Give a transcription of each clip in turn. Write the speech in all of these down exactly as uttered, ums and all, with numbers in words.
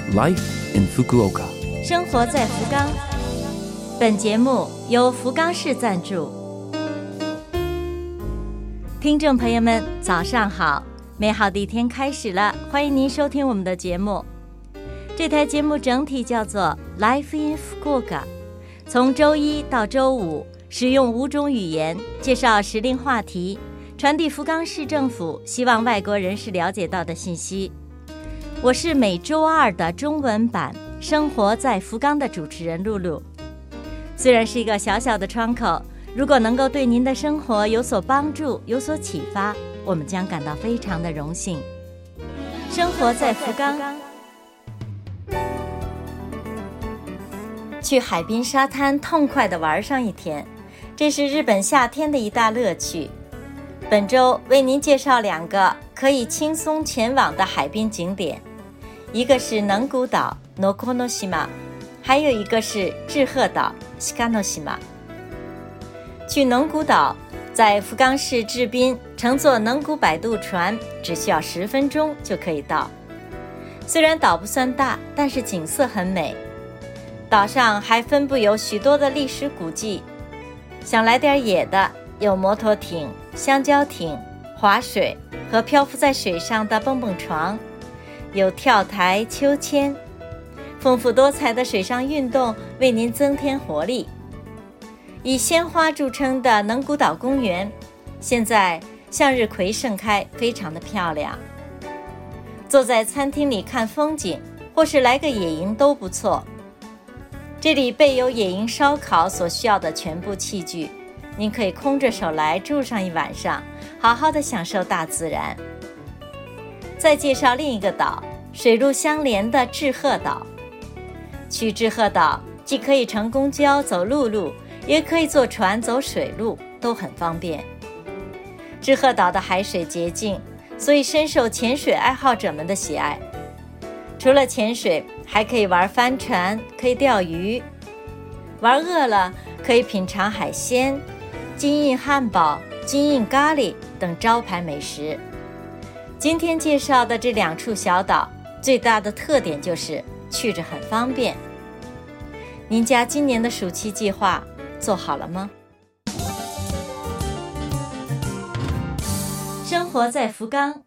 Life in Fukuoka， 生活在福冈。本节目由福冈市赞助。听众朋友们，早上好！美好的一天开始了，欢迎您收听我们的节目。这台节目整体叫做 Life in Fukuoka， 从周一到周五，使用五种语言介绍时令话题，传递福冈市政府希望外国人士了解到的信息。我是每周二的中文版生活在福冈的主持人露露。虽然是一个小小的窗口，如果能够对您的生活有所帮助，有所启发，我们将感到非常的荣幸。生活在福冈，去海滨沙滩痛快地玩上一天，这是日本夏天的一大乐趣。本周为您介绍两个可以轻松前往的海滨景点，一个是能古岛 Nokonoshima， 还有一个是志贺岛 Shikanoshima。 去能古岛，在福冈市志滨乘坐能古摆渡船只需要十分钟就可以到。虽然岛不算大，但是景色很美。岛上还分布有许多的历史古迹，想来点野的，有摩托艇、香蕉艇、划水和漂浮在水上的蹦蹦床，有跳台、秋千，丰富多彩的水上运动为您增添活力。以鲜花著称的能古岛公园，现在向日葵盛开，非常的漂亮。坐在餐厅里看风景，或是来个野营都不错。这里备有野营烧烤所需要的全部器具，您可以空着手来住上一晚上，好好的享受大自然。再介绍另一个岛，水陆相连的志贺岛。去志贺岛既可以乘公交走陆路，也可以坐船走水路，都很方便。志贺岛的海水洁净，所以深受潜水爱好者们的喜爱。除了潜水，还可以玩帆船，可以钓鱼。玩饿了，可以品尝海鲜、金印汉堡、金印咖喱等招牌美食。今天介绍的这两处小岛，最大的特点就是去着很方便。您家今年的暑期计划做好了吗？生活在福冈。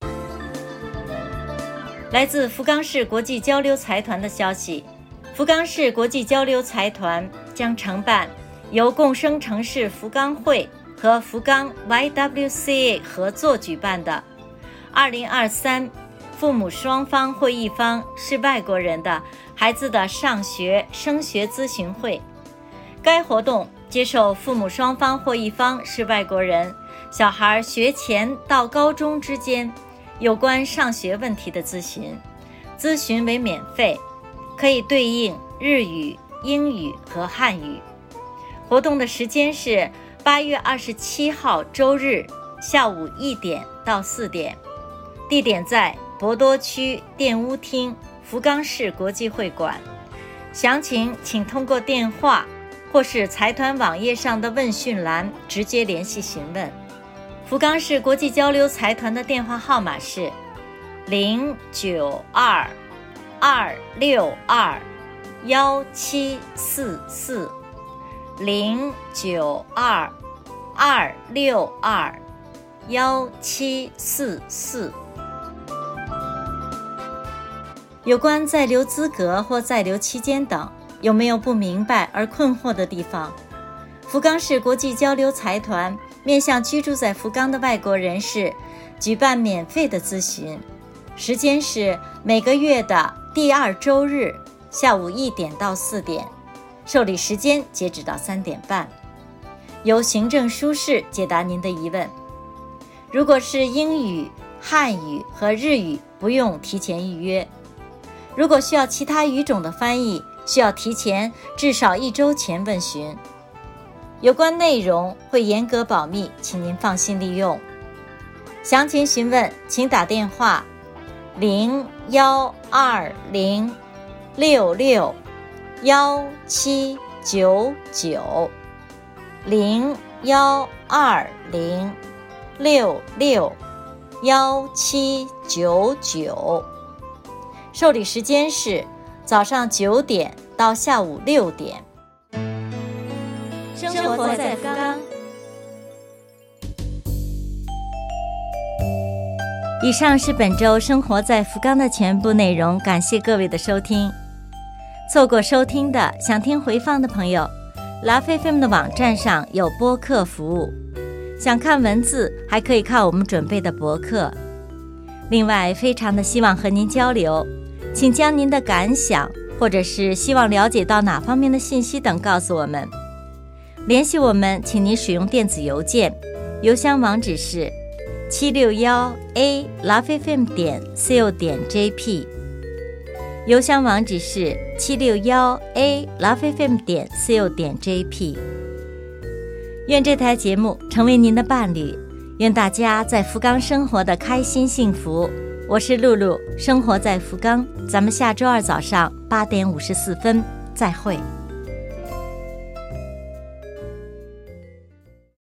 来自福冈市国际交流财团的消息，福冈市国际交流财团将承办由共生城市福冈会和福冈 Y W C A 合作举办的二零二三父母双方会一方是外国人的孩子的上学升学咨询会。该活动接受父母双方或一方是外国人小孩学前到高中之间有关上学问题的咨询，咨询为免费，可以对应日语、英语和汉语。活动的时间是八月二十七号周日下午一点到四点，地点在博多区电屋厅福冈市国际会馆。详情请通过电话或是财团网页上的问讯栏直接联系询问。福冈市国际交流财团的电话号码是零九二二六二幺七四四零九二二六二幺七四四。有关在留资格或在留期间等，有没有不明白而困惑的地方？福冈市国际交流财团面向居住在福冈的外国人士举办免费的咨询，时间是每个月的第二周日下午一点到四点，受理时间截止到三点半，由行政书士解答您的疑问。如果是英语、汉语和日语，不用提前预约。如果需要其他语种的翻译，需要提前至少一周前问询。有关内容会严格保密，请您放心利用。详情询问请打电话零幺二零六六幺七九九零幺二零六六幺七九九。 受理时间是早上九点到下午六点。生活在福冈。以上是本周生活在福冈的全部内容，感谢各位的收听。错过收听的，想听回放的朋友，Love F M 的网站上有播客服务，想看文字还可以看我们准备的博客。另外，非常的希望和您交流，请将您的感想或者是希望了解到哪方面的信息等告诉我们。联系我们，请您使用电子邮件，邮箱网址是七六一 a love f m 点 co 点 jp， 邮箱网址是七六一 a love f m 点 co 点 jp。 愿这台节目成为您的伴侣，愿大家在福冈生活的开心幸福。我是露露，生活在福冈，咱们下周二早上八点五十四分再会。